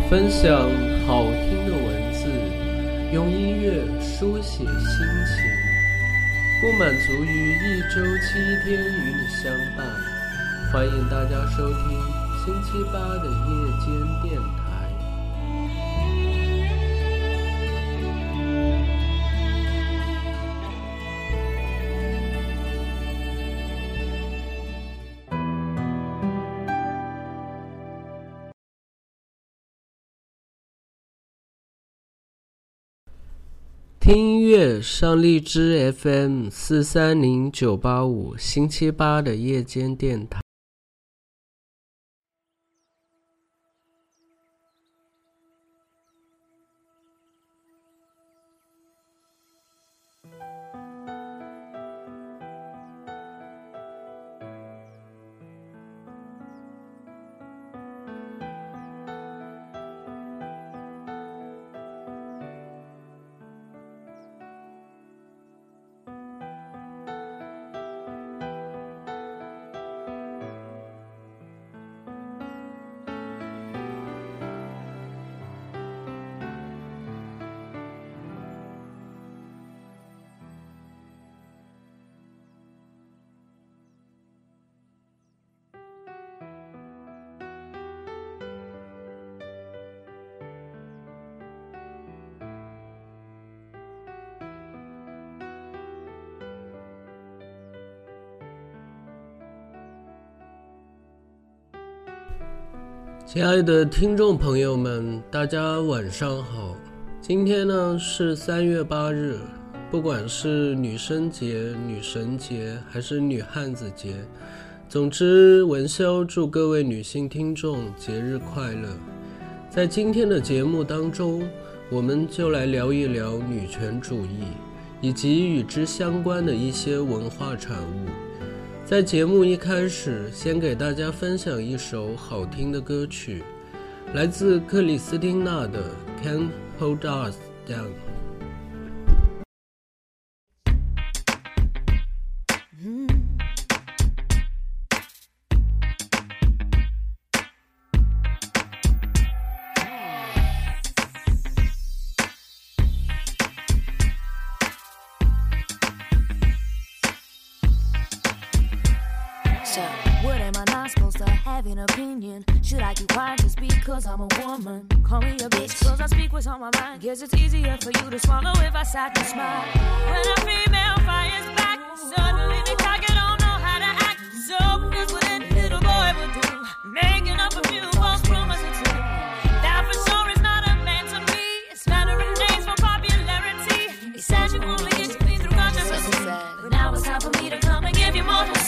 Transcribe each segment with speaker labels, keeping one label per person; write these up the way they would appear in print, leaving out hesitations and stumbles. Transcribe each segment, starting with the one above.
Speaker 1: 分享好听的文字，用音乐书写心情，不满足于一周7天与你相伴。欢迎大家收听星期8的夜间电台。听音乐上荔枝 FM 430985，星期8的夜间电台。亲爱的听众朋友们，大家晚上好。今天呢是3月8日，不管是女生节、女神节还是女汉子节，总之文潇祝各位女性听众节日快乐。在今天的节目当中，我们就来聊一聊女权主义以及与之相关的一些文化产物。在节目一开始，先给大家分享一首好听的歌曲，来自克里斯汀娜的 Can't Hold Us
Speaker 2: Down.What am I not supposed to have an opinion? Should I keep quiet just because I'm a woman? Call me a bitch cause I speak what's on my mind. Guess it's easier for you to swallow if I sat and smile. When a female fires back, suddenly they target don't know how to act. So that's what any little boy would do, making up a few false promises to that for sure is not a man to me. It's flattering names for popularity. He says you only get to me through controversy, but now it's time for me to come and give you more to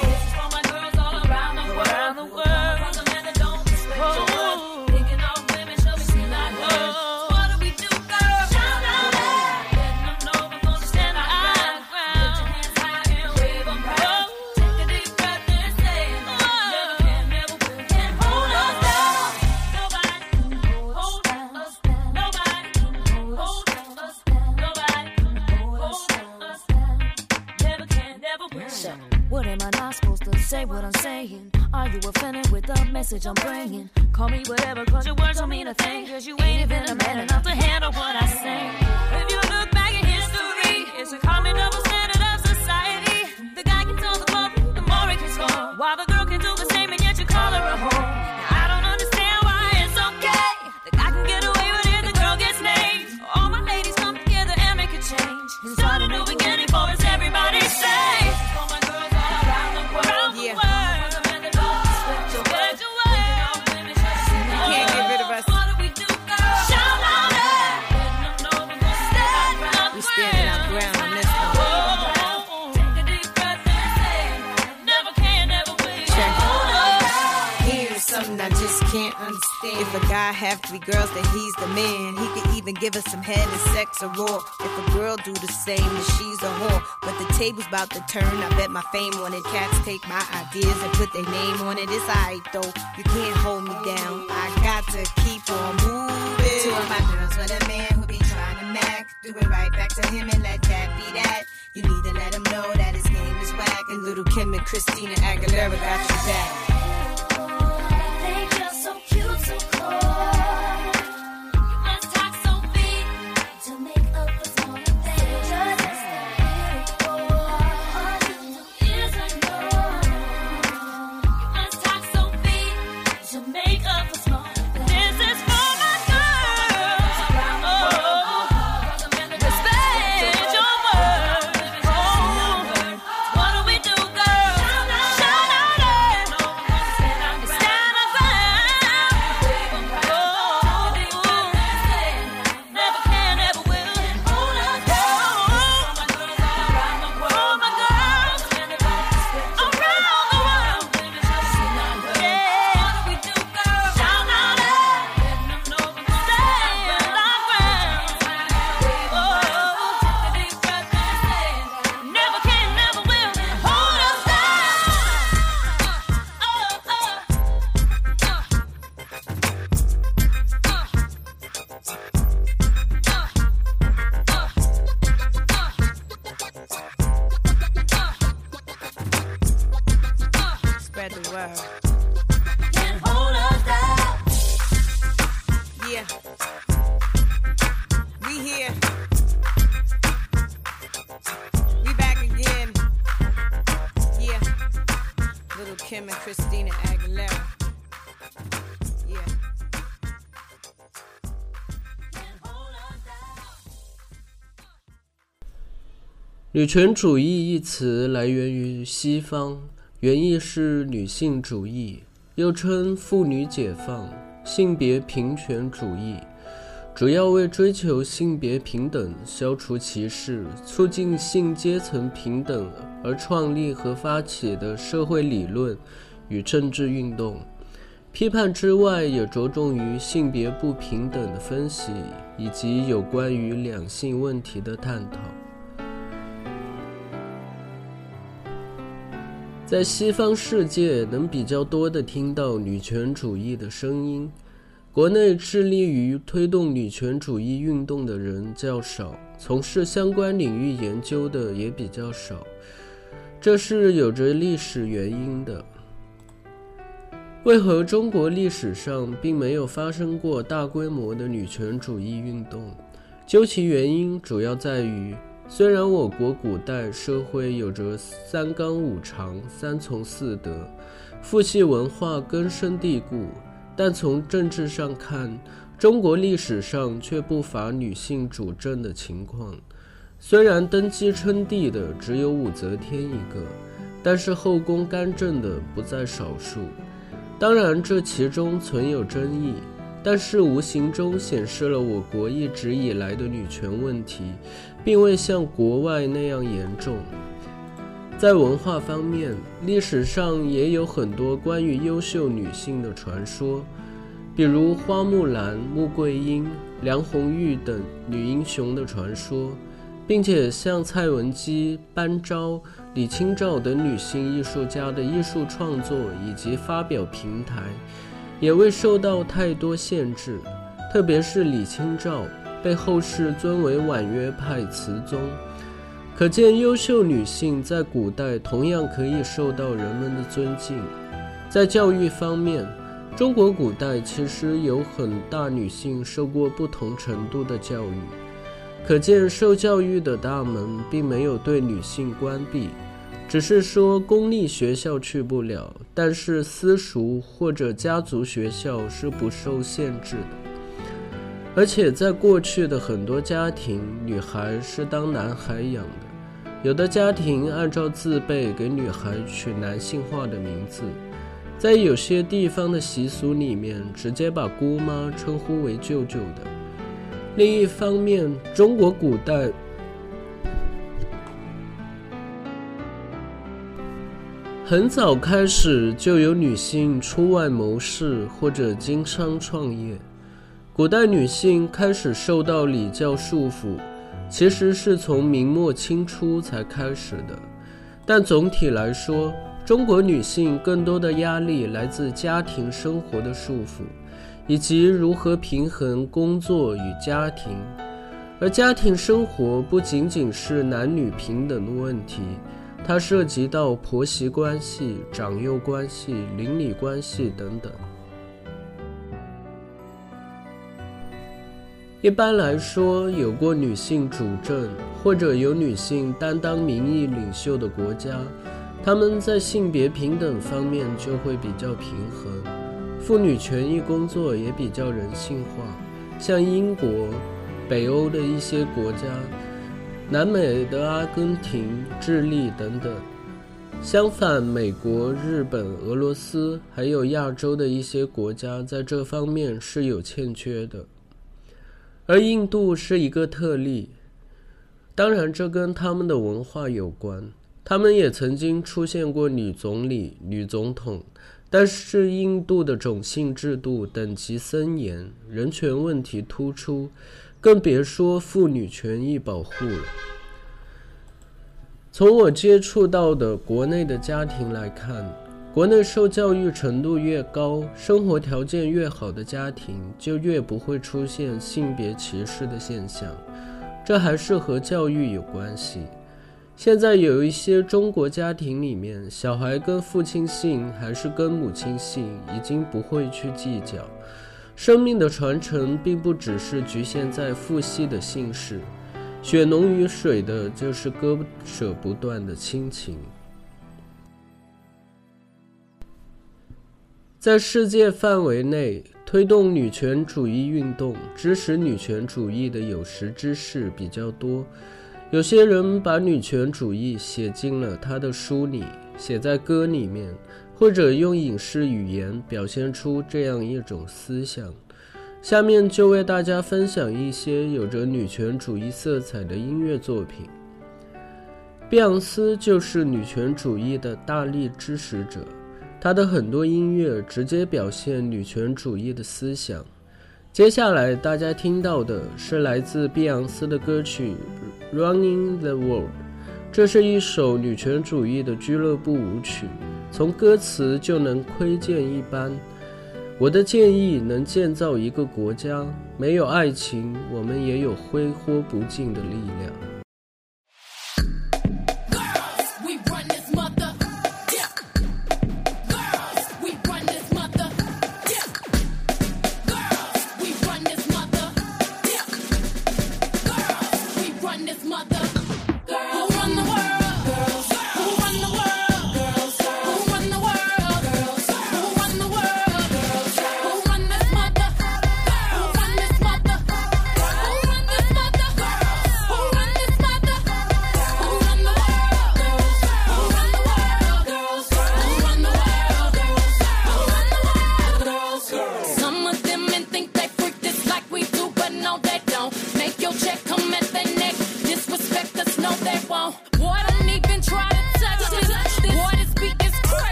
Speaker 2: say.What am I not supposed to say what I'm saying? Are you offended with the message I'm bringing? Call me whatever cause your words don't mean a thing, cause you ain't even a man enough to handle what I say. If you look back in history, it's a common double standard of society. The guy gets all the glory, the more he can score, while the girl can do the same and yet you call her a whore. Now I don't understand why it's okay. The guy can get away with it, the girl gets named. All my ladies come together and make a change and start a new beginning for us, everybody say.Can't understand. If a guy have 3 girls, then he's the man. He could even give us some head and sex or raw. If a girl do the same, then she's a whore. But the table's about to turn. I bet my fame on it. Cats take my ideas and put their name on it. It's alright though. You can't hold me down. I got to keep on moving. To all my girls with a man who be trying to mac, do it right back to him and let that be that. You need to let him know that his game is whack. And little Kim and Christina Aguilera got you back.So cute, so cold.
Speaker 3: spread the word.
Speaker 2: Can't hold us down.
Speaker 3: Yeah. We here. We back again. Yeah. Little Kim and Christina Aguilera. Yeah.
Speaker 2: Can't hold us down.
Speaker 1: 女权主义一词来源于西方，原意是女性主义，又称妇女解放、性别平权主义，主要为追求性别平等、消除歧视、促进性阶层平等而创立和发起的社会理论与政治运动。批判之外，也着重于性别不平等的分析，以及有关于两性问题的探讨。在西方世界能比较多地听到女权主义的声音，国内致力于推动女权主义运动的人较少，从事相关领域研究的也比较少，这是有着历史原因的。为何中国历史上并没有发生过大规模的女权主义运动？究其原因，主要在于虽然我国古代社会有着三纲五常、三从四德，父系文化根深蒂固，但从政治上看，中国历史上却不乏女性主政的情况。虽然登基称帝的只有武则天一个，但是后宫干政的不在少数。当然这其中存有争议，但是无形中显示了我国一直以来的女权问题并未像国外那样严重。在文化方面，历史上也有很多关于优秀女性的传说，比如花木兰、穆桂英、梁红玉等女英雄的传说，并且像蔡文姬、班昭、李清照等女性艺术家的艺术创作以及发表平台也未受到太多限制，特别是李清照被后世尊为婉约派词宗，可见优秀女性在古代同样可以受到人们的尊敬。在教育方面，中国古代其实有很大女性受过不同程度的教育，可见受教育的大门并没有对女性关闭，只是说公立学校去不了，但是私塾或者家族学校是不受限制的。而且在过去的很多家庭，女孩是当男孩养的，有的家庭按照字辈给女孩取男性化的名字，在有些地方的习俗里面直接把姑妈称呼为舅舅的。另一方面，中国古代很早开始就有女性出外谋事或者经商创业。古代女性开始受到礼教束缚，其实是从明末清初才开始的。但总体来说，中国女性更多的压力来自家庭生活的束缚，以及如何平衡工作与家庭。而家庭生活不仅仅是男女平等的问题，它涉及到婆媳关系、长幼关系、邻里关系等等。一般来说，有过女性主政或者有女性担当民意领袖的国家，她们在性别平等方面就会比较平衡，妇女权益工作也比较人性化，像英国、北欧的一些国家，南美的阿根廷、智利等等。相反，美国、日本、俄罗斯还有亚洲的一些国家在这方面是有欠缺的。而印度是一个特例，当然这跟他们的文化有关，他们也曾经出现过女总理、女总统，但是印度的种姓制度等级森严，人权问题突出，更别说妇女权益保护了。从我接触到的国内的家庭来看，国内受教育程度越高，生活条件越好的家庭就越不会出现性别歧视的现象，这还是和教育有关系。 现在有一些中国家庭里面，小孩跟父亲姓还是跟母亲姓，已经不会去计较。生命的传承并不只是局限在父系的姓氏，血浓于水的就是割舍不断的亲情。在世界范围内，推动女权主义运动、支持女权主义的有识之士比较多。有些人把女权主义写进了他的书里，写在歌里面，或者用影视语言表现出这样一种思想。下面就为大家分享一些有着女权主义色彩的音乐作品。碧昂斯就是女权主义的大力支持者，她的很多音乐直接表现女权主义的思想。接下来大家听到的是来自碧昂斯的歌曲 Running the World， 这是一首女权主义的俱乐部舞曲，从歌词就能窥见一斑。我的建议能建造一个国家，没有爱情，我们也有挥霍不尽的力量。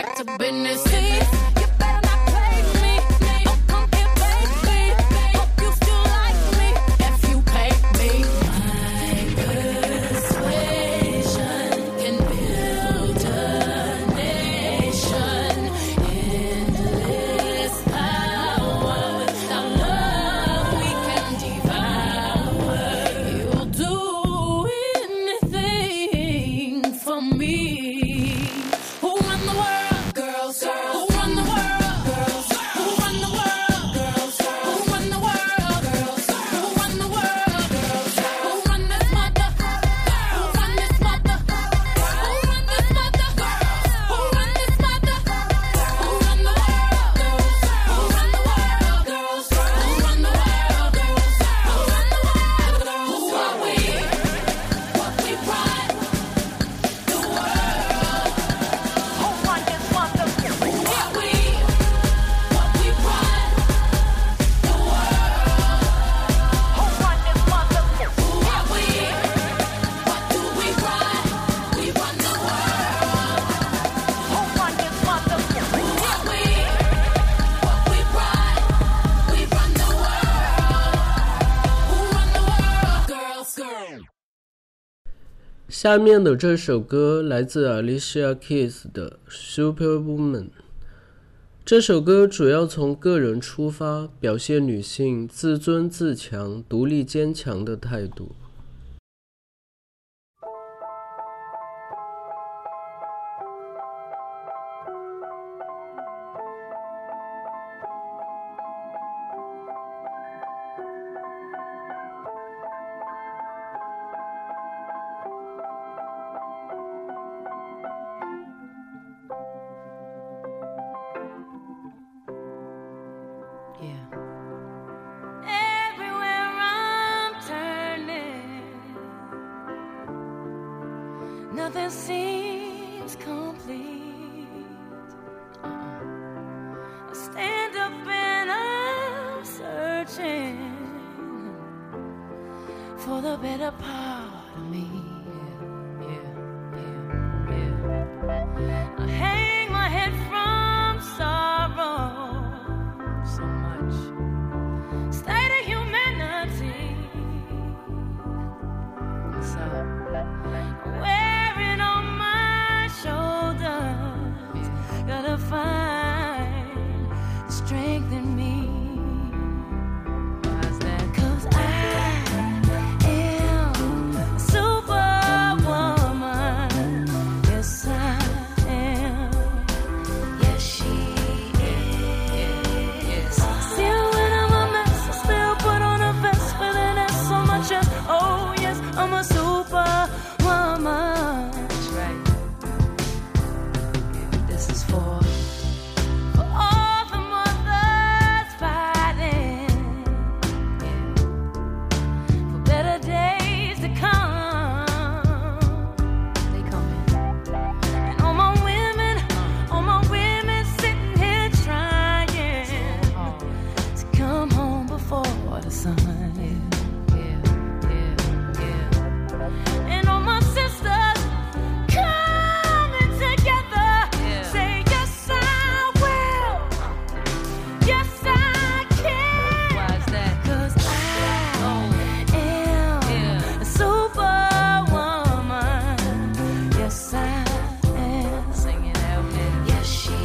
Speaker 2: You better not play me. Oh, come here, baby. Hope you
Speaker 1: 下面的这首歌来自 Alicia Keys 的 Superwoman。 这首歌主要从个人出发，表现女性自尊自强、独立坚强的态度。
Speaker 2: Nothing seems complete. I stand up and I'm searching for the better part of me. I hang my head from sorrow so much. State of humanity. So wearing on my shoulders, gotta find strength in me. Why's that? 'Cause I am a superwoman. Yes, I am. Yes, she is. Still when I'm a mess, I still put on a vest with an S on my chest. Oh yes, I'm a superwoman. That's right. This is for all the mothers fighting, for better days to come. They coming. And all my women sitting here trying to come home before the sun. And all my sisters coming together, say yes I will, yes I can. Why's that? 'Cause I am a superwoman. Yes I am. Sing it out, man. Yes she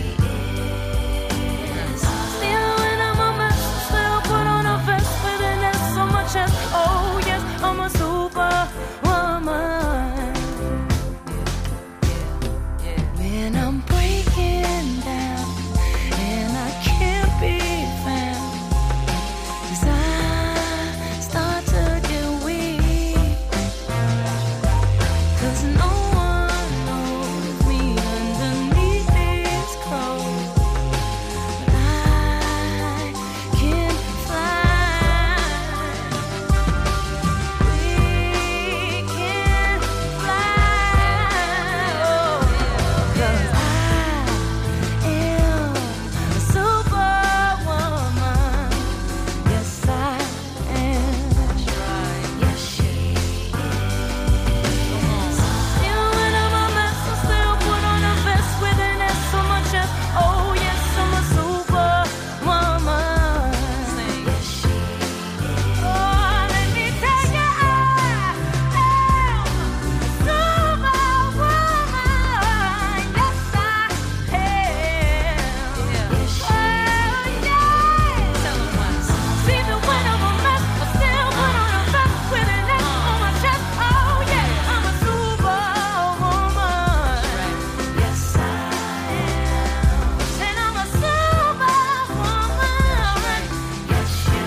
Speaker 2: is. Still when I'm a mess, still put on a vest with an S on my chest. Oh yes, I'm a superwoman. When I'm breaking down and I can't be found, 'cause I start to get weak, 'cause no one knows me underneath these clothes, but I can fly. We can fly. Oh, 'cause I am a superwoman. Yes, I am. Yes, she is. Still when I'm a mess, I still put on a vest with an S on my chest. Oh yes, I'm a superwoman. Yes, she is. Oh, let me tell you, I am a superwoman. Yes, I am. Yes, she is. Tell 'em why. Even when I'm a mess, I still put on a vest with an S on my chest. Oh yeah, I'm a superwoman. Yes, I am. And I'm a superwoman. Yes, you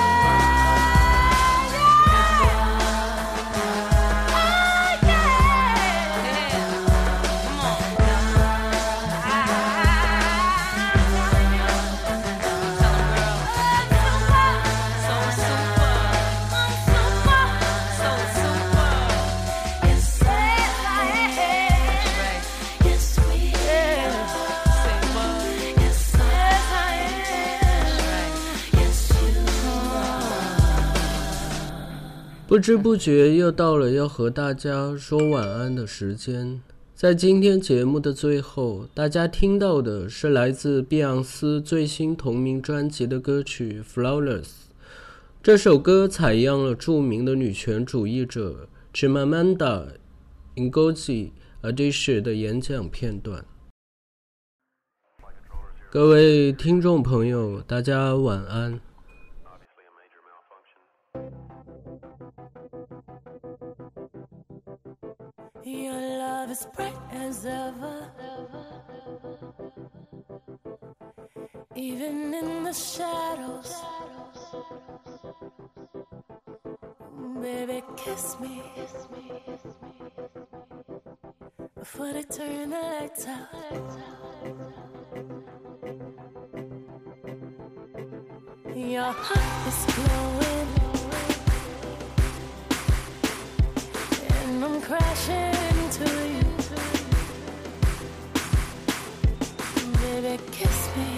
Speaker 1: 不知不觉又到了要和大家说晚安的时间。在今天节目的最后，大家听到的是来自碧昂斯最新同名专辑的歌曲 Flawless。 这首歌采样了著名的女权主义者 Chimamanda Ngozi Adichie 的演讲片段。各位听众朋友，大家晚安。
Speaker 2: Your love is bright as ever, even in the shadows. Baby, kiss me before they turn the lights out. Your heart is glowing, and I'm crashing into you. Baby, kiss me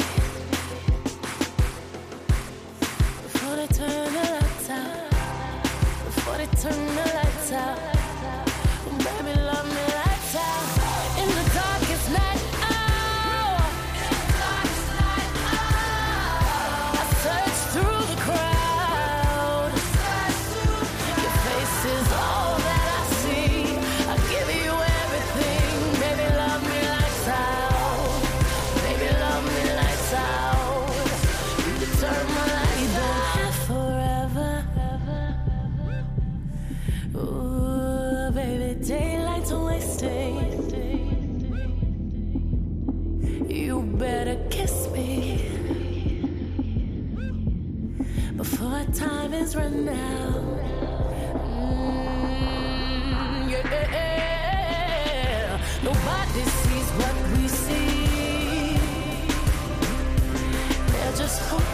Speaker 2: before they turn the lights out. Before they turn the lights out. Baby, love me lights out. In the darkest night, oh, I search through the crowd. Your face is all that I see. I give you everything. Baby, love me lights out. Baby, love me lights out. You turn my lights out forever. Ooh, baby, daylight's wasting. You better kiss me before time is run out. Yeah. Nobody sees what we see. They're just hoping